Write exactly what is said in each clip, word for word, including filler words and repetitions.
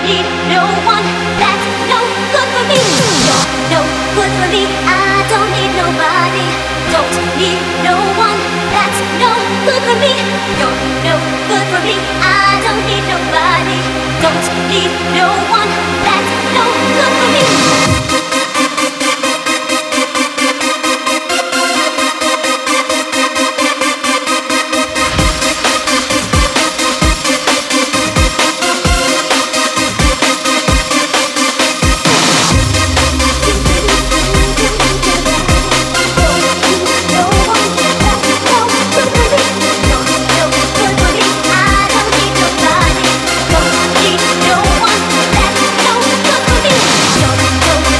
need no one that's no good for me. You're no good for me. I don't need nobody. Don't need no one that's no good for me. You're no good for me. I don't need nobody. Don't need no one that's no good for me. No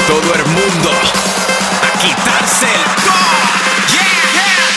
todo el mundo a quitarse el go. Yeah, yeah,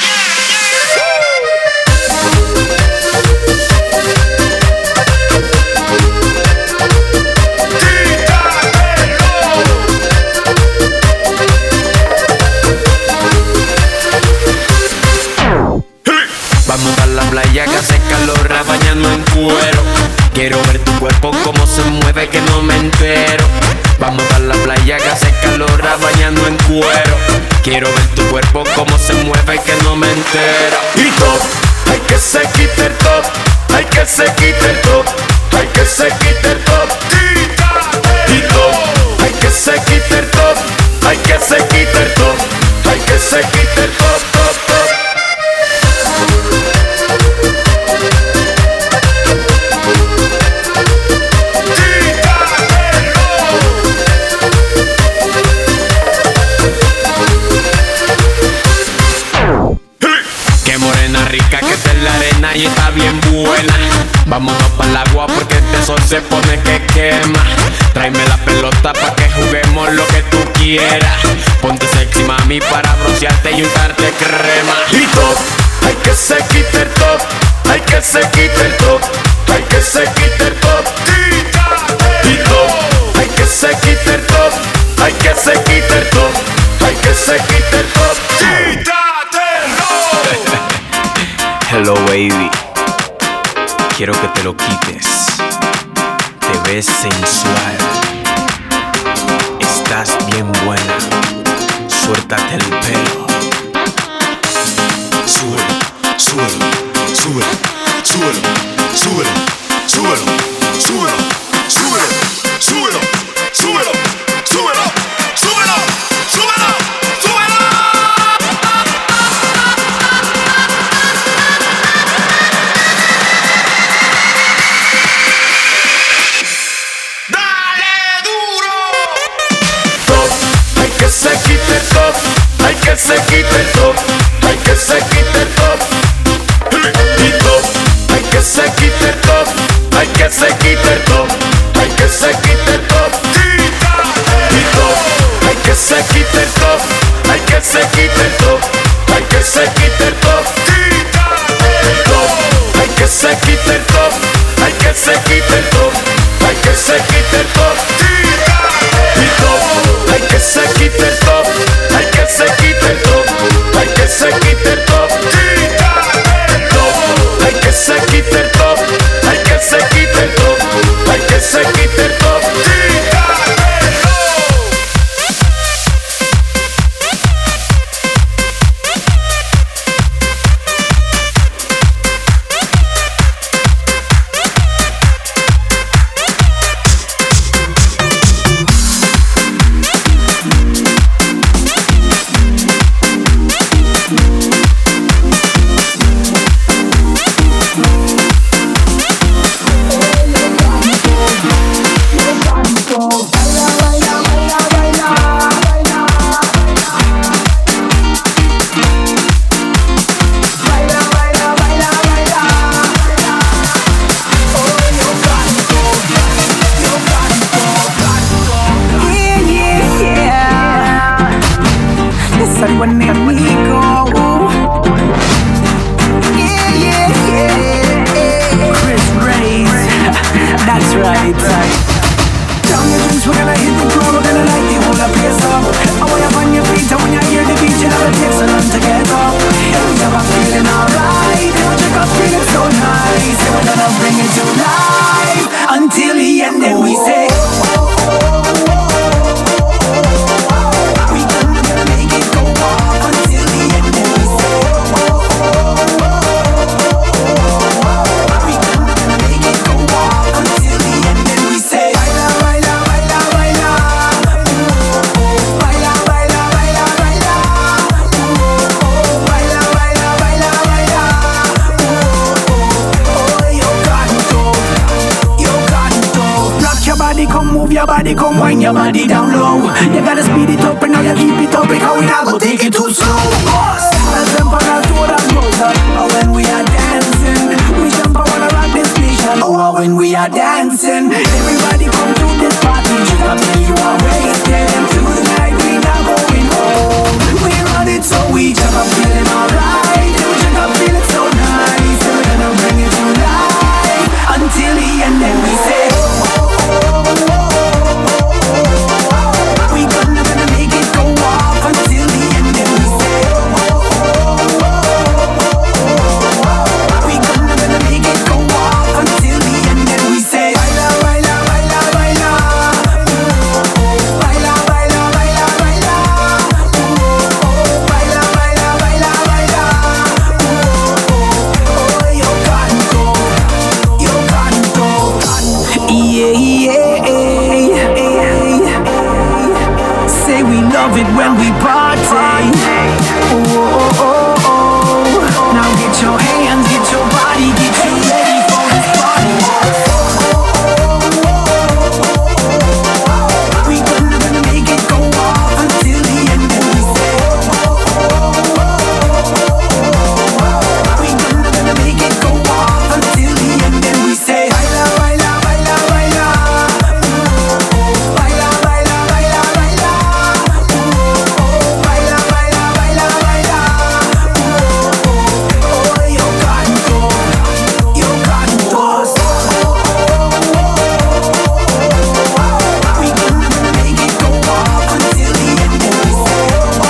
Vamos a la playa que hace calor, bañando en cuero. Quiero ver tu cuerpo como se mueve, que no me entero. Vamos a la playa que hace calor, bañando en cuero. Quiero ver tu cuerpo como se mueve, que no me entero. Y top, hay que se quite el top, hay que se quite el top, hay que se quite el top. Y top, hay que se quite el top, hay que se quite el top, hay que se quite el top, top, top. Qué morena rica que está en la arena y está bien buena. Vámonos pa'l agua porque este sol se pone que quema. Tráeme la pelota pa' que juguemos lo que tú quieras. Ponte sexy mami para broncearte y untarte crema. Y top, hay que se quite el top, hay que se quite el top, hay que se quite el top. Y top, hay que se quite el top, hay que se quite el top, hay que se quite el top. Hello baby, quiero que te lo quites. Te ves sensual, estás bien buena. Suéltate el pelo. Súbelo, súbelo, súbelo, súbelo, súbelo, súbelo, súbelo, súbelo, súbelo, súbelo, súbelo, súbelo, súbelo, súbelo. Se quite el top, hay que se quite el top, hay que se quite el top. Y top, hay que se quite el top, hay que se quite el top, hay que se quite el top. Y top, hay que se quite el top, hay que se quite el top, hay que se quite el top. Top, hay que se quite el top, hay que se quite el top, hay que se quite el top. Y top, hay que se quite el top, hay que se quite el top, hay que se quite el top. Top, hay que se quite el top, hay que se quite el top, hay que se quite el top. Body, come wind your body down low. You gotta speed it up and now you keep it up because we not go take it too slow. Let's jump on our toe that goes up. Oh, when we are dancing, we jump on wanna rock this nation. Oh, when we are dancing, everybody come to this party. Just up till you are waiting to the love it when we party. Oh, oh, oh, oh. Now get your hands, get your body, get you ready for this party. We gonna, gonna make it go off until the end of the day. We gonna, gonna make it go off until the end and we say baila, baila, baila, baila. Baila, baila, baila, baila. Baila, baila, baila, baila. Oh, yo canto, yo canto. We gonna, gonna make it go off until the end and we say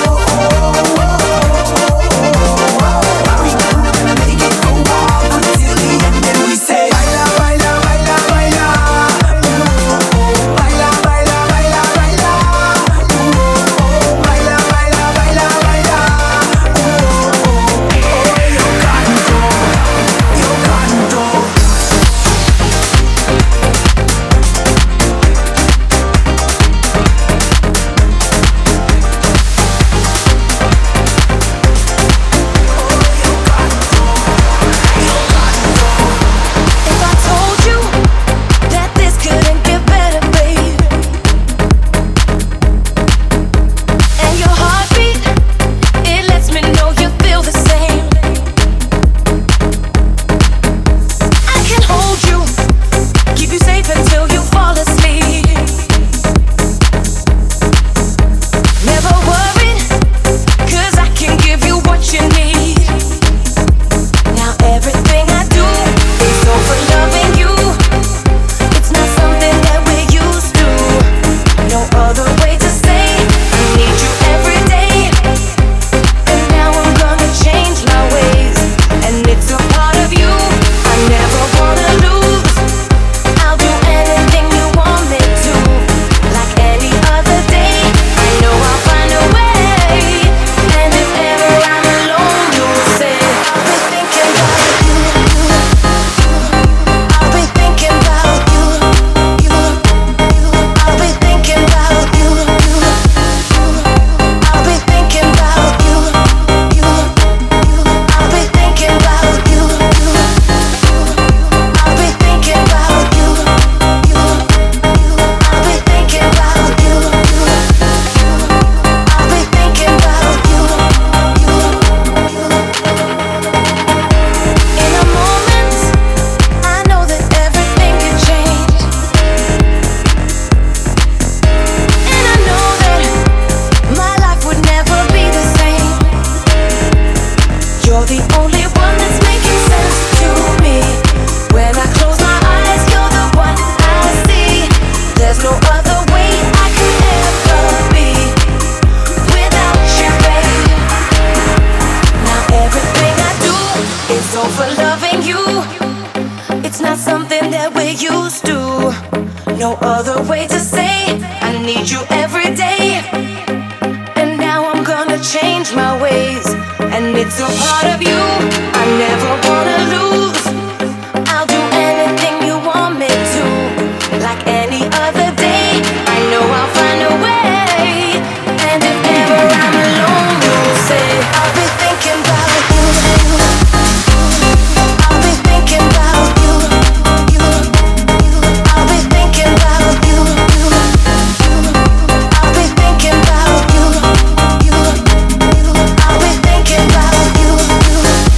we gonna, gonna make it go off until the end and we say baila, baila, baila, baila. Baila, baila, baila, baila. Baila, baila, baila, baila. Oh, yo canto, yo canto. If I told you that this couldn't get better, babe, and your heartbeat, it lets me know you feel the same. I can hold you, keep you safe until you fall asleep. Never worried, 'cause I can give you what you need. Now everything I do is all for loving you. It's not something that we're used to. No other way to say I need you every day. And now I'm gonna change my ways, and it's a part of you I never wanna lose. I'll do anything you want me to, like any other day. I know I'll find a way. And if ever I'm alone, you'll say I'll be thinking about you. I'll be thinking about you. I'll be thinking about you. I'll be thinking about you. I'll be thinking about you. I'll be thinking about you. I'll be thinking about you. I'll be thinking about you. In a moment, I know that everything can change. And I know that my life would never be the same. You're the only one that's making sense to me. When I close my eyes, you're the one I see. There's no other way I could ever be without you, babe. Now everything I do is all for loving you. It's not something that we're used to. No other way to say I need you every day. And now I'm gonna change my ways, and it's a part of you I never wanna lose. I'll do anything you want me to, like any other day. I know I'll find a way. And if ever I'm alone, you'll say I'll be thinking about you. I'll be thinking about you. I'll be thinking about you. I'll be thinking about you. I'll be thinking about you.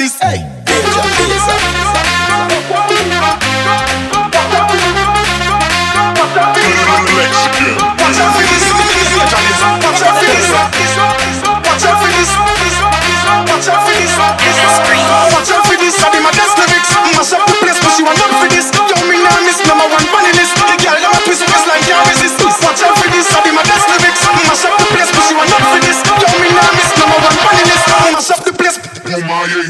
this. Hey, danger, danger. Watch out for this. Watch out for this. Watch out for this. Watch out for this. Watch out for this. I'm my best lyrics. Mash up the place, but she want up for this. Yo, me now miss number one funny list. The girl them a twist waist like can't resist. Watch out for this. I'm my best lyrics. Mash up the place, but she want up for this. Yo, me now miss number one funny list. Mash up the place. Oh my yeah.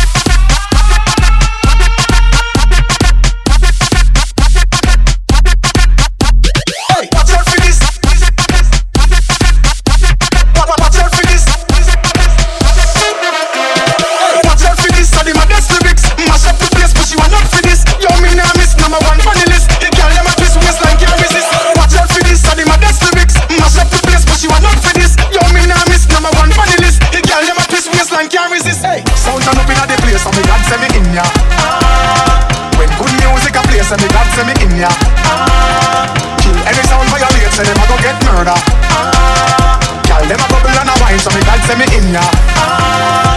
Say me God say me in ya. Ah, kill any sound violate, say them a go get murder. Ah, girl them a bubble and a wine, so me God say me in ya. Ah.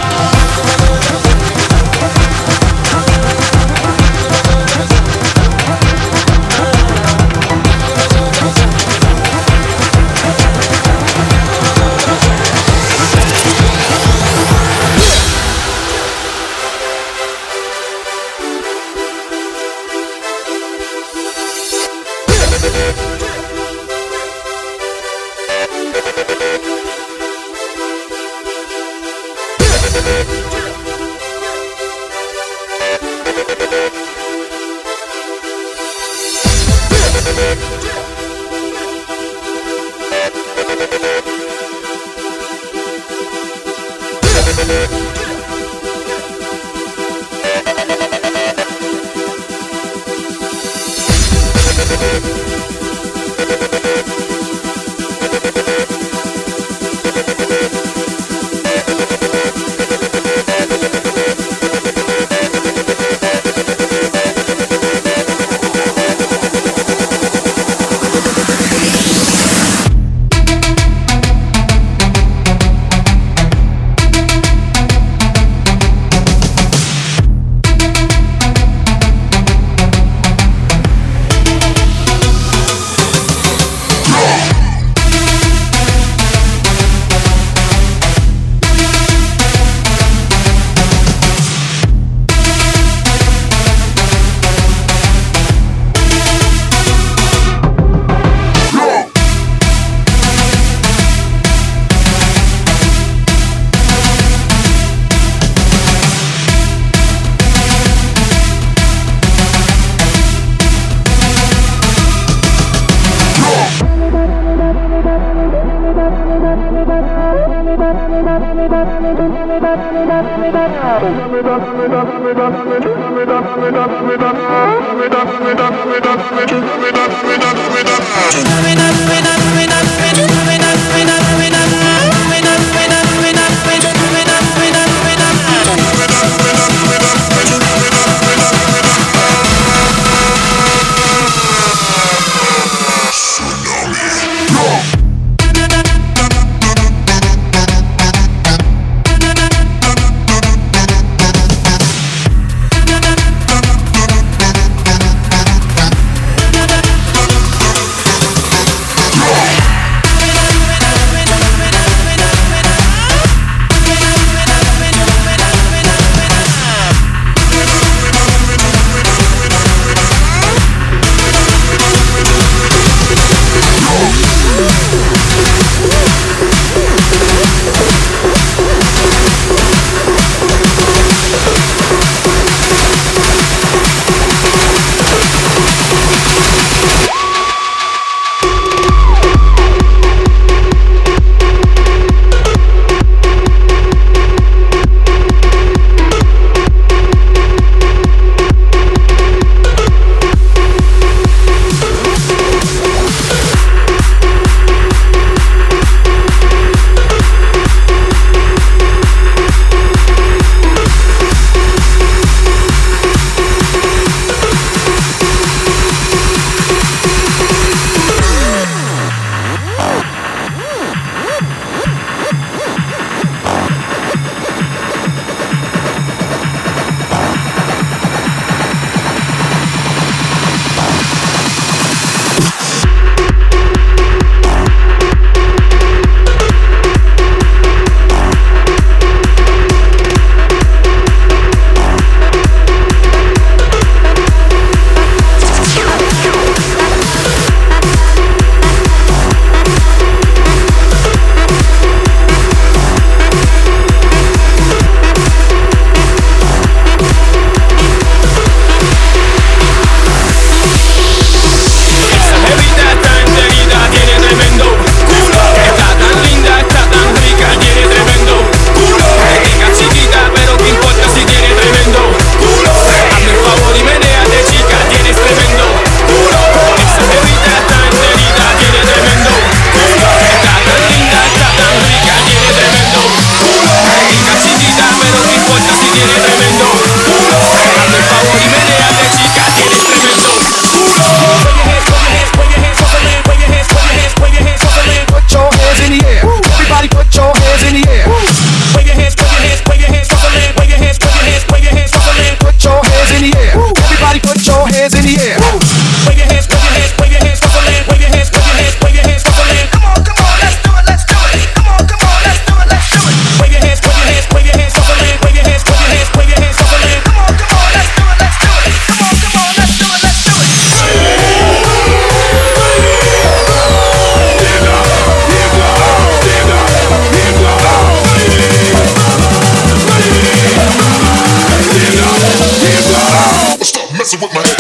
Yeah. hands in the air. Wave your hands, wave your hands, wave your hands, hustling. Wave your hands, wave your hands, wave your hands, hustling. Put your hands in the air. Everybody put your hands in the air. Wave your hands, wave your hands, wave your hands, hustling. Wave your hands, wave your hands, wave your hands, hustling. Come on, come on, let's do it, let's do it. Come on, come on, let's do it, let's do it. Wave your hands, wave your hands, wave your hands, hustling. Wave your hands, wave your hands, wave your hands, hustling. Come on, come on, let's do it, let's do it. Come on, come on, let's do it, let's do it. Stop messing with my head.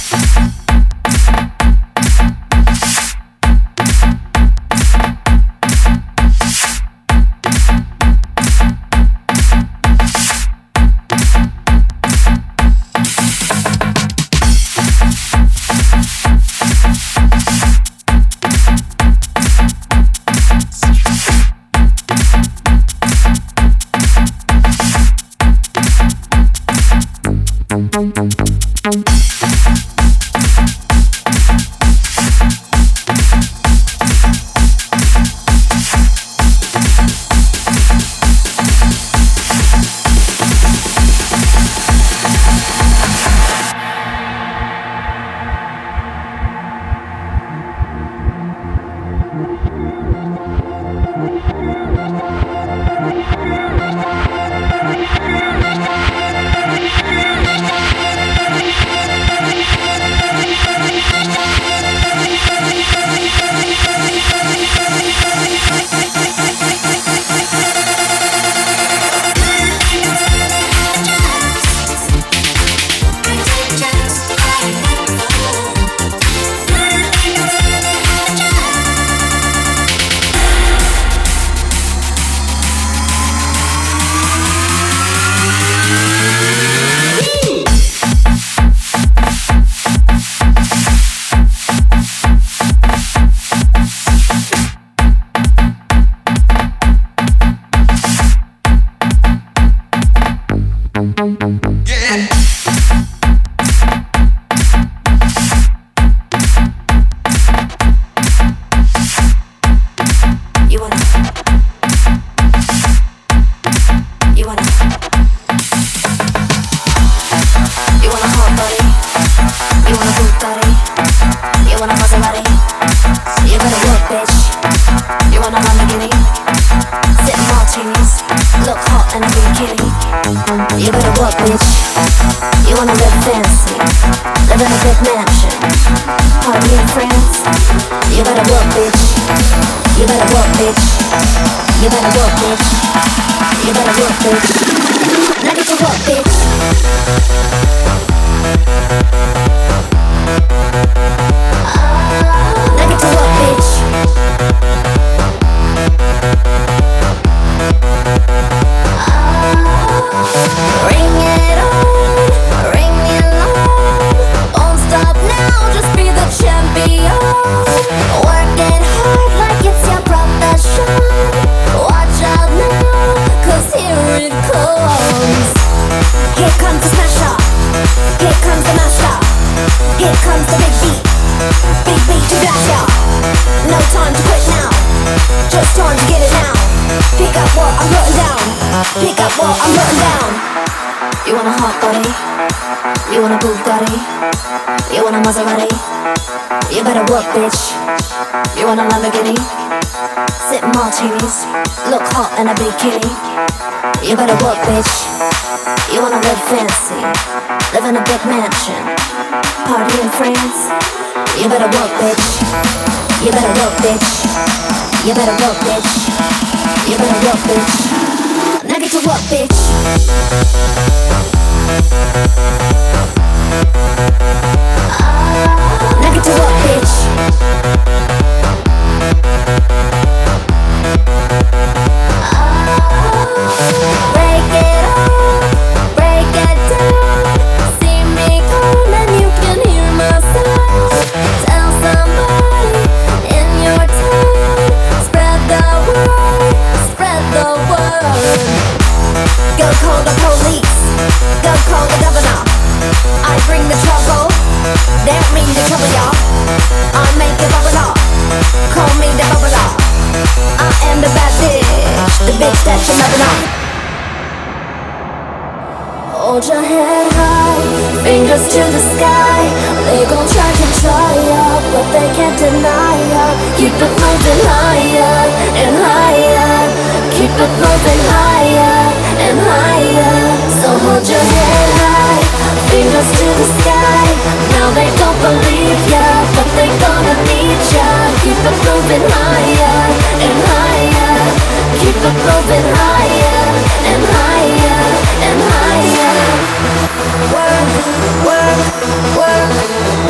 Work, work, work.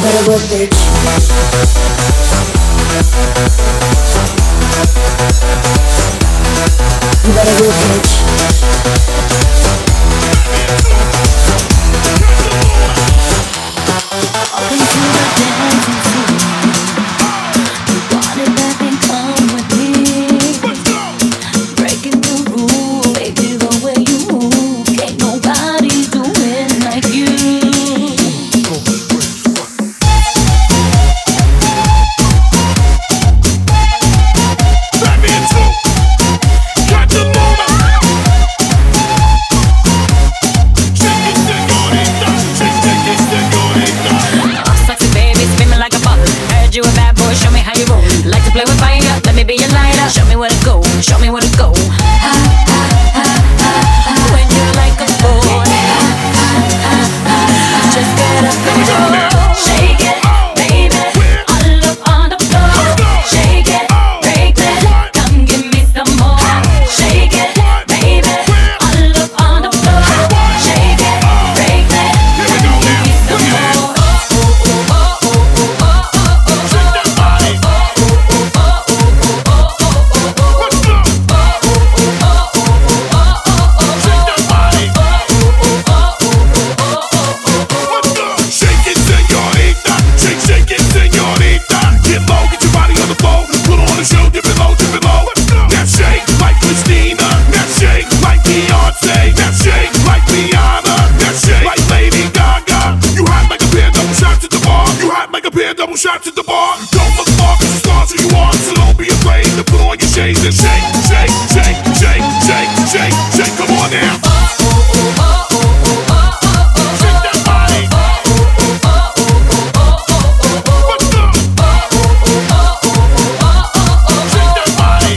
better work, bitch. You better work, bitch. Up into the dancing floor. You want it back and come with me. Breaking the rule, baby, the way you move. Can't nobody do it like you. You a bad boy, show me how you roll. Like to play with fire, let me be your lighter. Show me where to go, show me where to go. Ha, ha, ha, ha, ha. When you're like a boy, ha, ha, ha, ha. Just get up and go. Shake it, baby, all up on the floor. Shake it, break it, come give me some more. Shake it, baby, all up on the floor. Shake it, break it, come give me some more. Double shots at the bar. Don't look far, cause the stars who you are. So don't be afraid to put on your shades and shake, shake, shake, shake, shake, shake, shake. Come on now. Shake that body. What's up? Shake that body.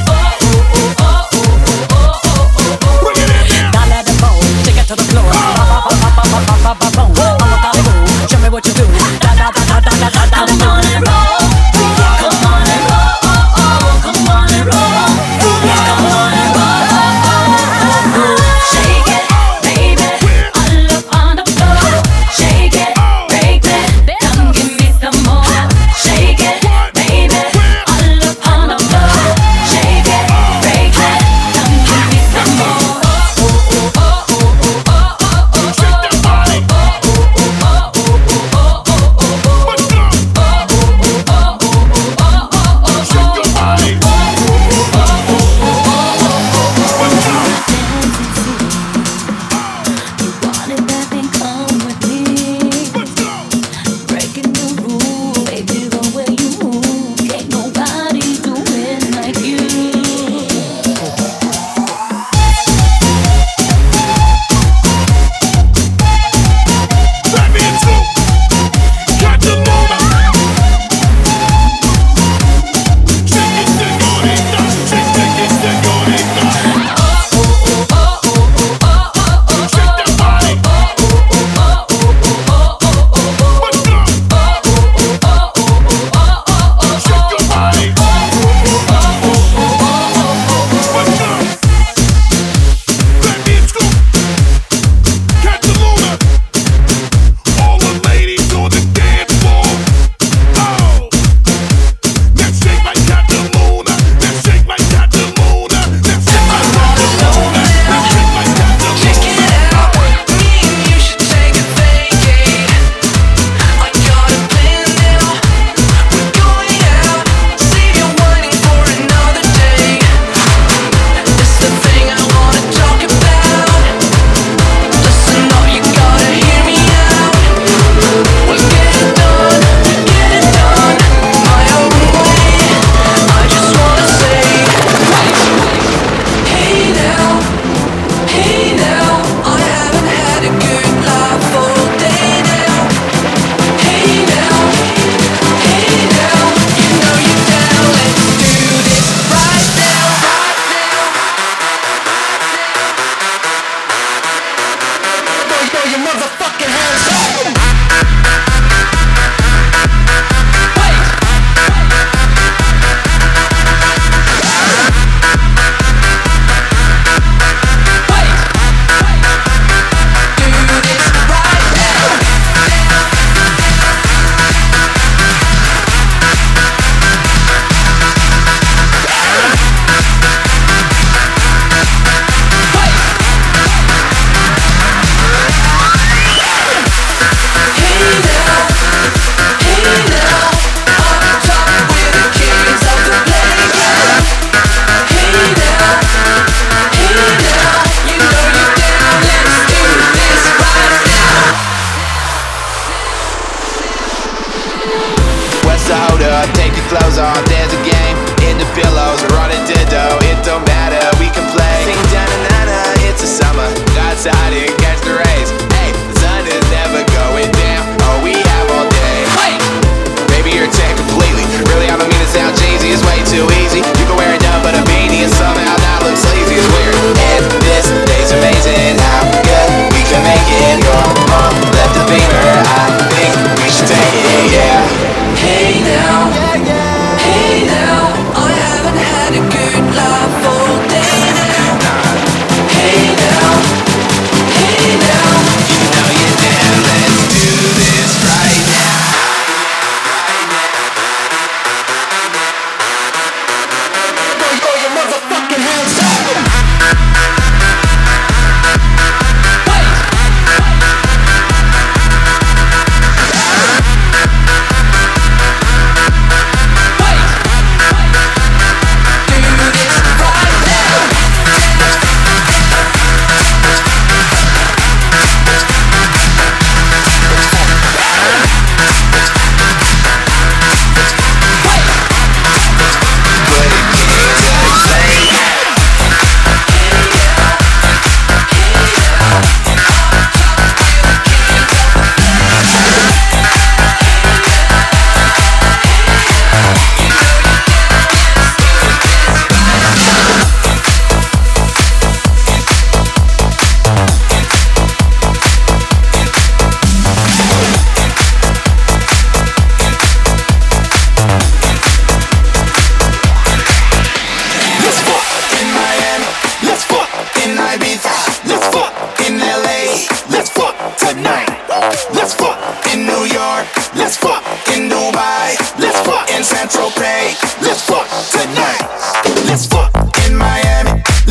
Bring it in now. Dale the bone, take it to the floor. Show me what you do. Da da da da da da da. Come on and roll. Come on and roll. Come on and roll. Come on and roll. Shake it.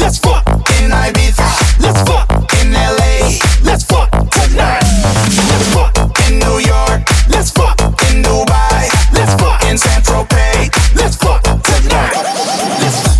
let's fuck in Ibiza, let's fuck in L A, let's fuck tonight. Let's fuck in New York, let's fuck in Dubai, let's fuck in San Tropez, let's fuck tonight. Let's fuck.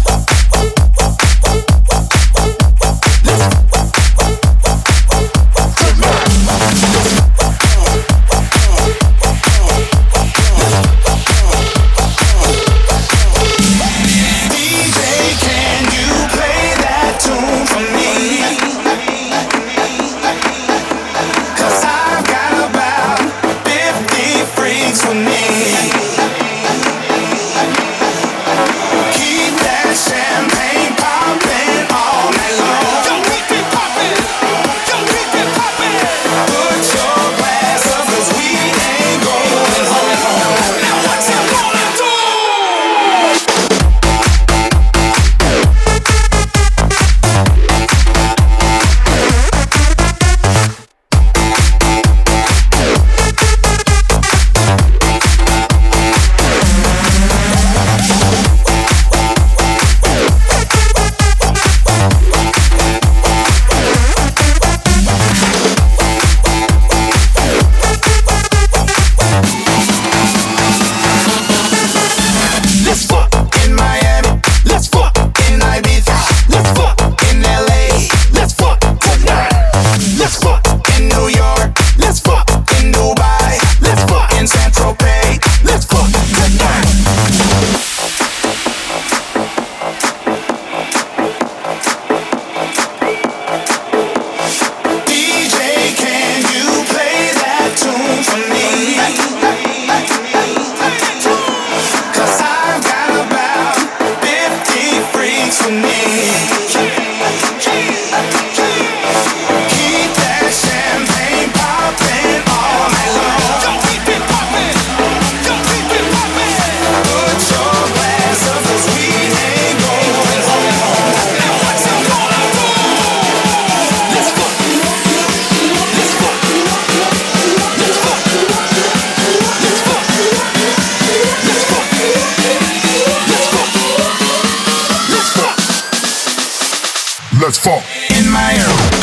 Let's fuck in my room.